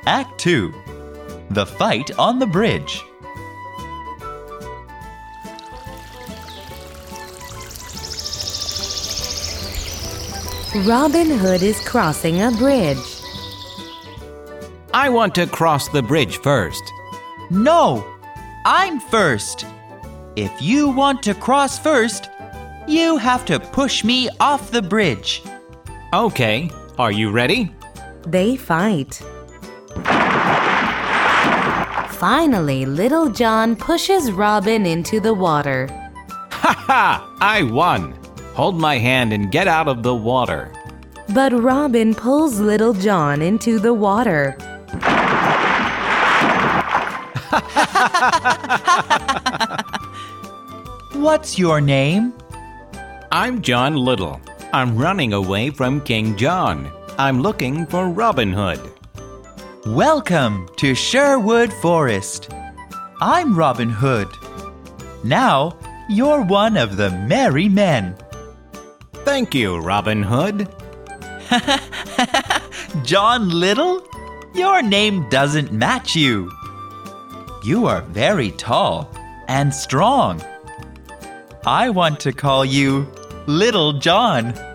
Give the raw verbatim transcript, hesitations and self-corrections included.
Act two. The Fight on the Bridge. Robin Hood is crossing a bridge. I want to cross the bridge first. No, I'm first. If you want to cross first, you have to push me off the bridge. Okay, are you ready? They fight. Finally, Little John pushes Robin into the water. Ha ha! I won! Hold my hand and get out of the water. But Robin pulls Little John into the water. What's your name? I'm John Little. I'm running away from King John. I'm looking for Robin Hood. Welcome to Sherwood Forest. I'm Robin Hood. Now, you're one of the merry men. Thank you, Robin Hood. John Little? Your name doesn't match you. You are very tall and strong. I want to call you Little John.